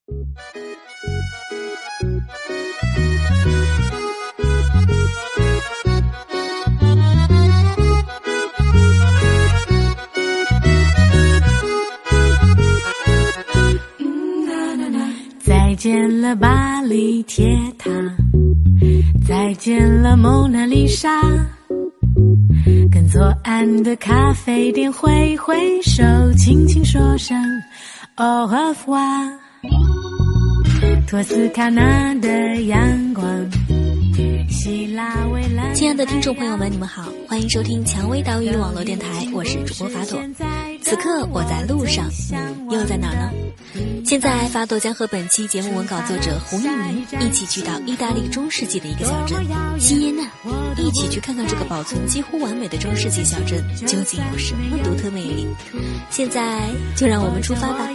再见了巴黎铁塔，再见了蒙娜丽莎，跟左岸的咖啡店挥挥手，轻轻说声 Au revoir。 托斯卡纳的阳光，希腊蔚蓝。 亲爱的听众朋友们，你们好，欢迎收听蔷薇岛屿网络电台，我是主播法朵。此刻我在路上，你又在哪呢？现在法朵将和本期节目文稿作者胡一鸣一起去到意大利中世纪的一个小镇锡耶纳，一起去看看这个保存几乎完美的中世纪小镇究竟有什么独特魅力。现在就让我们出发吧。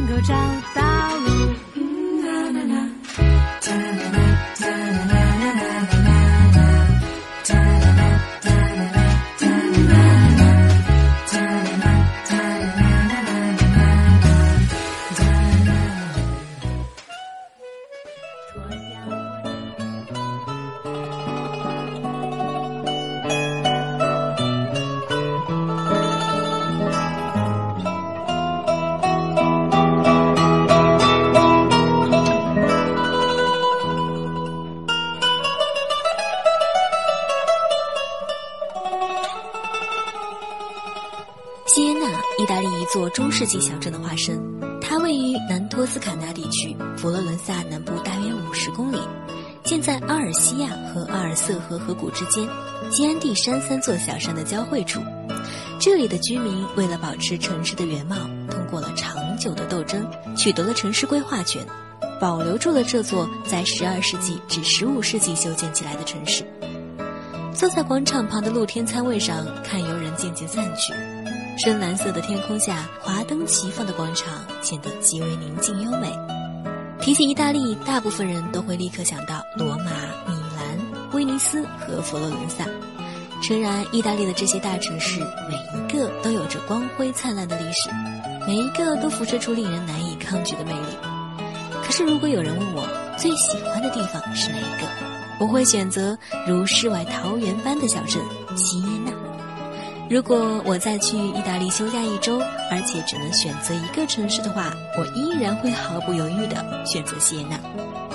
锡耶纳，意大利一座中世纪小镇的化身，它位于南托斯卡纳地区，佛罗伦萨南部大约50公里，建在阿尔西亚和阿尔瑟河河谷之间，基安蒂山3座小山的交汇处。这里的居民为了保持城市的原貌，通过了长久的斗争，取得了城市规划权，保留住了这座在12世纪至15世纪修建起来的城市。坐在广场旁的露天餐位上，看游人渐渐散去，深蓝色的天空下，华灯齐放的广场显得极为宁静优美。提起意大利，大部分人都会立刻想到罗马、米兰、威尼斯和佛罗伦萨。诚然，意大利的这些大城市每一个都有着光辉灿烂的历史，每一个都辐射出令人难以抗拒的魅力。可是如果有人问我最喜欢的地方是哪一个，我会选择如世外桃源般的小镇锡耶纳。如果我再去意大利休假1周，而且只能选择一个城市的话，我依然会毫不犹豫地选择锡耶纳。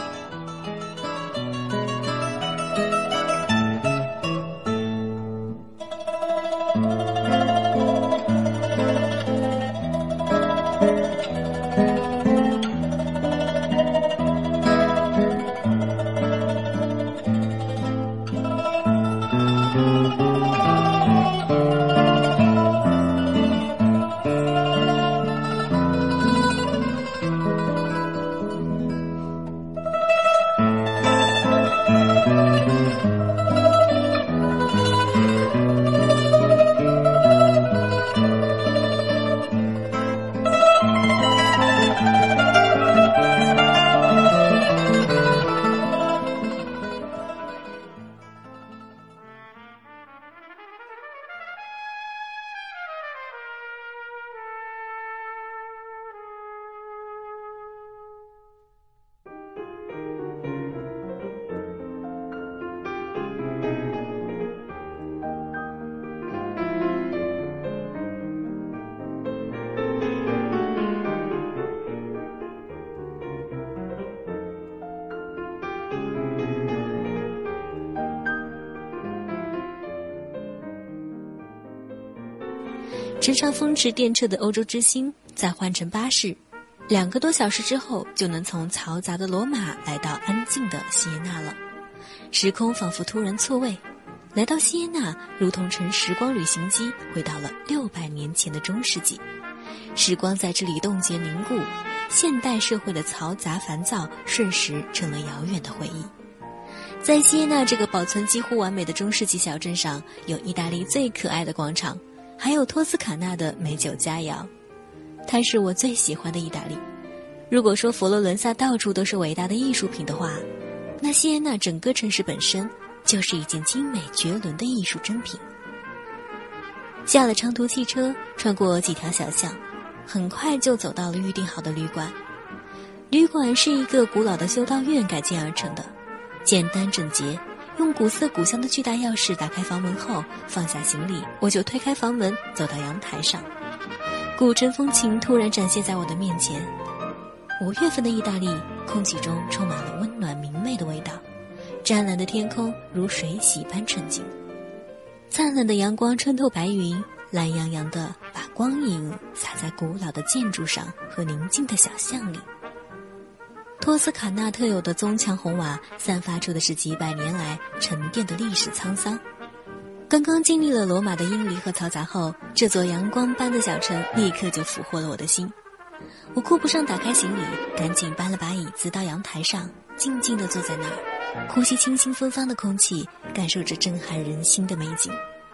乘上风驰电掣的欧洲之星，再换乘巴士，2个多小时之后就能从嘈杂的罗马来到安静的锡耶纳了。时空仿佛突然错位，来到锡耶纳如同乘时光旅行机回到了600年前的中世纪。时光在这里冻结凝固，现代社会的嘈杂烦躁瞬时成了遥远的回忆。在锡耶纳这个保存几乎完美的中世纪小镇上，有意大利最可爱的广场，还有托斯卡纳的美酒佳肴。它是我最喜欢的意大利。如果说佛罗伦萨到处都是伟大的艺术品的话，那锡耶纳整个城市本身就是一件精美绝伦的艺术珍品。下了长途汽车，穿过几条小巷，很快就走到了预定好的旅馆。 旅馆是一个古老的修道院改建而成的，简单整洁。用古色古香的巨大钥匙打开房门后，放下行李，我就推开房门走到阳台上。古城风情突然展现在我的面前。5月份的意大利，空气中充满了温暖明媚的味道，湛蓝的天空如水洗般纯净，灿烂的阳光穿透白云，懒洋洋地把光影洒在古老的建筑上和宁静的小巷里。托斯卡纳特有的棕墙红瓦散发出的是几百年来沉淀的历史沧桑。刚刚经历了罗马的英离和嘈杂后，这座阳光般的小城立刻就俘获了我的心。我顾不上打开行李，赶紧搬了把椅子到阳台上，静静地坐在那儿，呼吸清新芬芳的空气，感受着震撼人心的美景。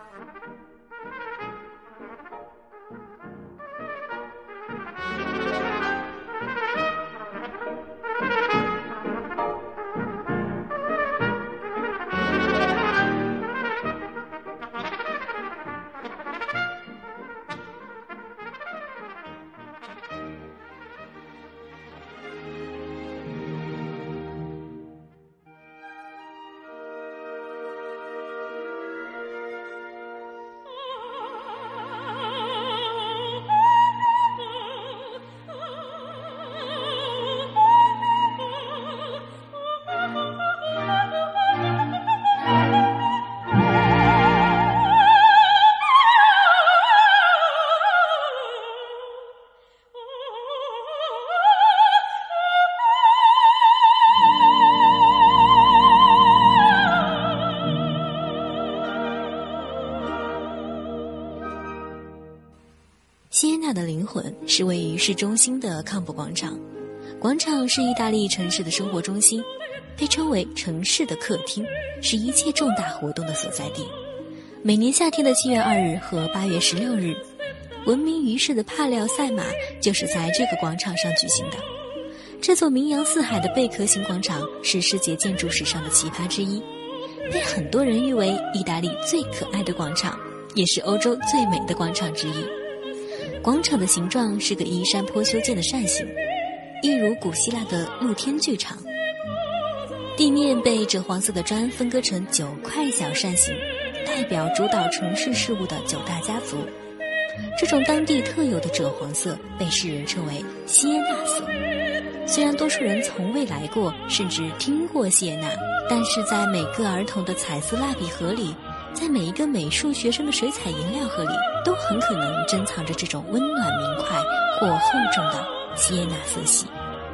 锡耶纳的灵魂是位于市中心的康普广场。广场是意大利城市的生活中心，被称为城市的客厅，是一切重大活动的所在地。每年夏天的7月2日和8月16日，闻名于世的帕廖赛马就是在这个广场上举行的。这座名扬四海的贝壳形广场是世界建筑史上的奇葩之一，被很多人誉为意大利最可爱的广场，也是欧洲最美的广场之一。广场的形状是个依山坡修建的扇形，一如古希腊的露天剧场。地面被赭黄色的砖分割成9块小扇形，代表主导城市事务的9大家族。这种当地特有的赭黄色被世人称为锡耶纳色。虽然多数人从未来过，甚至听过锡耶纳，但是在每个儿童的彩色蜡笔盒里，在每一个美术学生的水彩颜料盒里，都很可能珍藏着这种温暖明快或厚重的锡耶纳色系。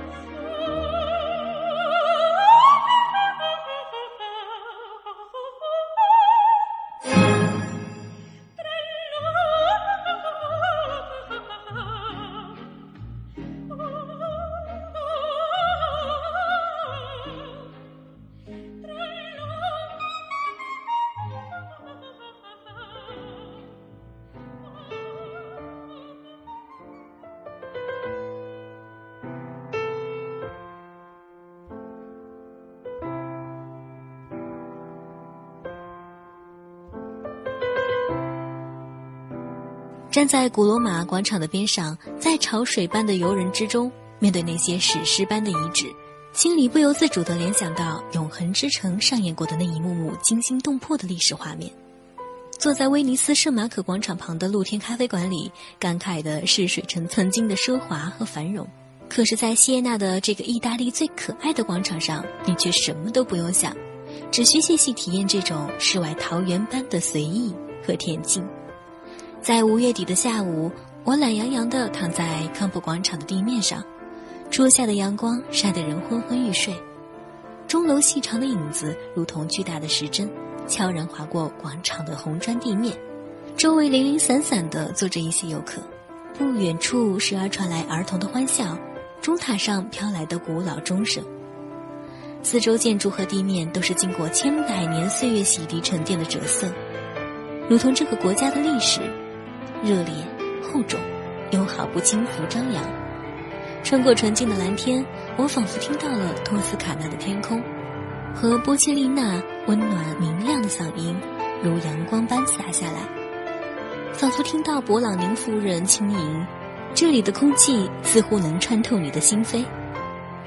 站在古罗马广场的边上，在潮水般的游人之中，面对那些史诗般的遗址，心里不由自主地联想到永恒之城上演过的那一幕幕惊心动魄的历史画面。坐在威尼斯圣马可广场旁的露天咖啡馆里，感慨的是水城曾经的奢华和繁荣。可是在锡耶纳的这个意大利最可爱的广场上，你却什么都不用想，只需细细体验这种世外桃源般的随意和恬静。在5月底的下午，我懒洋洋地躺在康普广场的地面上，初夏的阳光晒得人昏昏欲睡，钟楼细长的影子如同巨大的时针，悄然划过广场的红砖地面，周围零零散散地坐着一些游客，不远处时而传来儿童的欢笑，钟塔上飘来的古老钟声。四周建筑和地面都是经过千百年岁月洗涤沉淀的赭色，如同这个国家的历史，热烈厚重，又毫不轻浮张扬。穿过纯净的蓝天，我仿佛听到了托斯卡纳的天空，和波切利娜温暖明亮的嗓音如阳光般洒下来，仿佛听到勃朗宁夫人轻吟，这里的空气似乎能穿透你的心扉。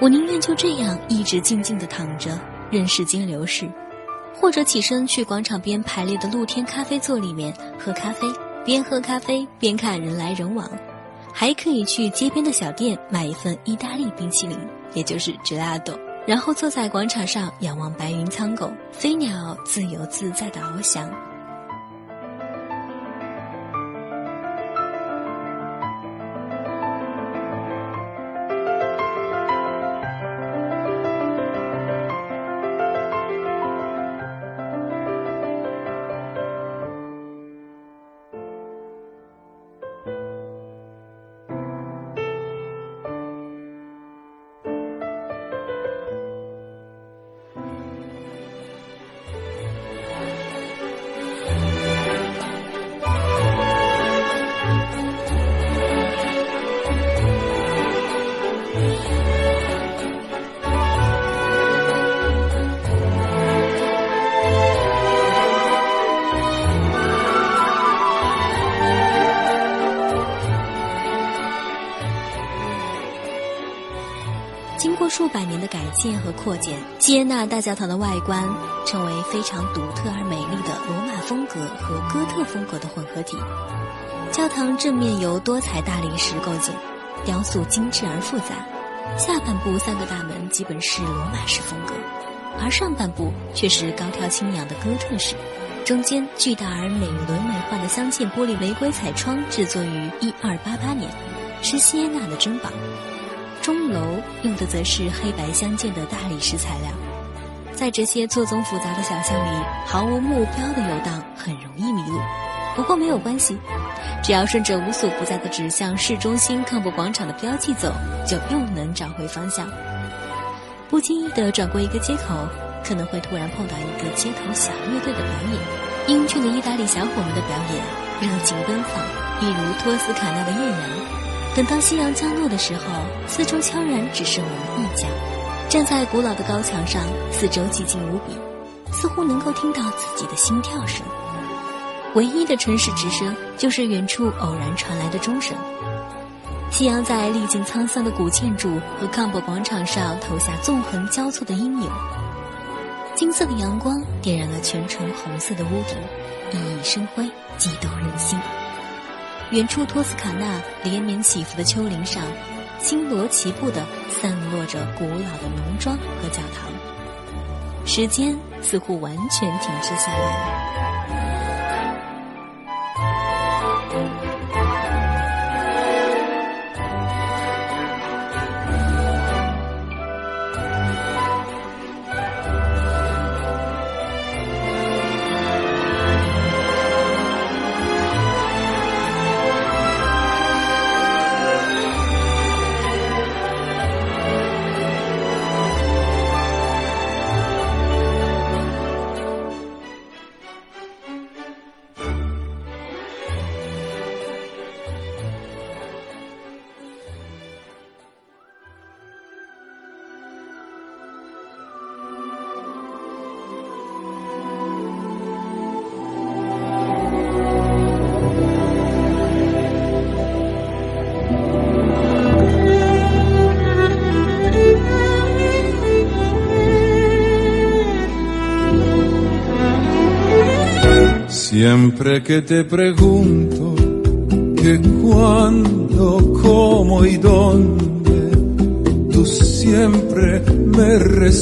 我宁愿就这样一直静静地躺着，任时间流逝，或者起身去广场边排列的露天咖啡座里面喝咖啡，边喝咖啡边看人来人往。还可以去街边的小店买一份意大利冰淇淋，也就是 gelato， 然后坐在广场上仰望白云苍狗，飞鸟自由自在地翱翔。经过数百年的改建和扩建，锡耶纳大教堂的外观成为非常独特而美丽的罗马风格和哥特风格的混合体。教堂正面由多彩大理石构建，雕塑精致而复杂，下半部3个大门基本是罗马式风格，而上半部却是高挑清扬的哥特式。中间巨大而美轮美奂的镶嵌玻璃玫瑰彩窗制作于1288年，是锡耶纳的珍宝。钟楼用的则是黑白相间的大理石材料。在这些错综复杂的小巷里，毫无目标的游荡很容易迷路，不过没有关系，只要顺着无所不在的指向市中心康普广场的标记走，就又能找回方向。不经意地转过一个街口，可能会突然碰到一个街头小乐队的表演。英俊的意大利小伙们的表演热情奔放，一如托斯卡纳的艳阳。等到夕阳降落的时候，四周悄然只剩我们一家，站在古老的高墙上，四周寂静无比，似乎能够听到自己的心跳声。唯一的城市之声就是远处偶然传来的钟声。夕阳在历经沧桑的古建筑和康博广场上投下纵横交错的阴影，金色的阳光点燃了全城红色的屋顶，熠熠生辉，激动人心。远处托斯卡纳连绵起伏的丘陵上，星罗棋布地散落着古老的农庄和教堂，时间似乎完全停滞下来了。 Siempre que te pregunto que cuándo, cómo y dónde, tú siempre me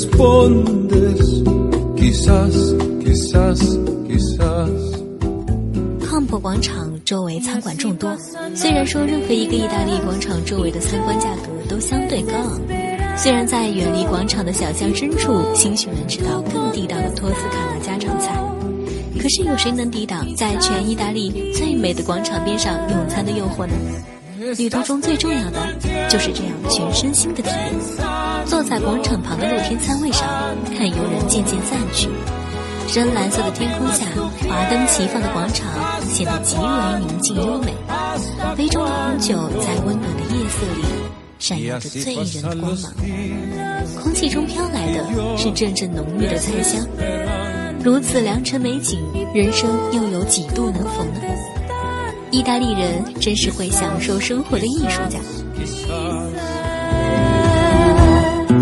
respondes quizás, quizás, quizás。 康博广场周围餐馆众多，虽然说任何一个意大利广场周围的参观价格都相对高昂，虽然在远离广场的小巷深处，兴许能吃到更地道的托斯卡纳家常菜，可是有谁能抵挡在全意大利最美的广场边上用餐的诱惑呢？旅途中最重要的就是这样全身心的体验。坐在广场旁的露天餐位上，看游人渐渐散去，深蓝色的天空下，华灯齐放的广场显得极为宁静优美。杯中的红酒在温暖的夜色里闪耀着醉人的光芒，空气中飘来的是阵阵浓郁的菜香。如此良辰美景，人生又有几度能逢呢？意大利人真是会享受生活的艺术家。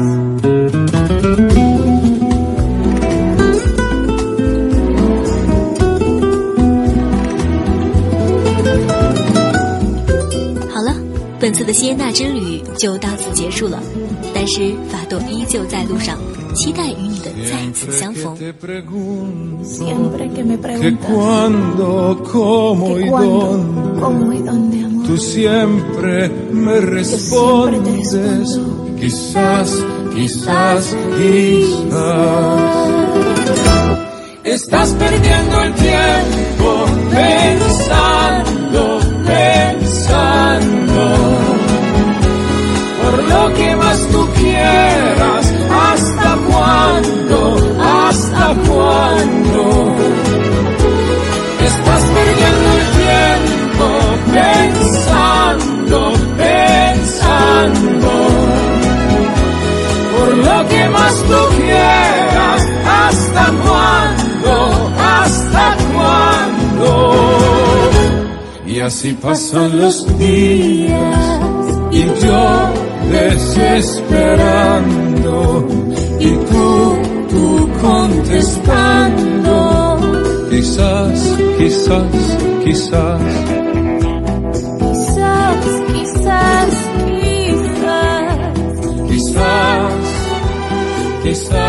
就到此结束了，但是法朵依旧在路上，期待与你的再次相逢。 Siempre que me preguntas que cuándo, cómo y dónde, amor, tú siempre me respondes, quizás, quizás, quizás. Estás perdiendo el tiempo pensando, pensando, por lo que más tú quieras, ¿hasta cuándo? ¿Hasta cuándo? Estás perdiendo el tiempo pensando, pensando, por lo que más tú quieras, ¿hasta cuándo? ¿Hasta cuándo? Y así pasan los días y yo desesperando y tú contestando, quizás, quizás, quizás, quizás, quizás, quizás, quizás.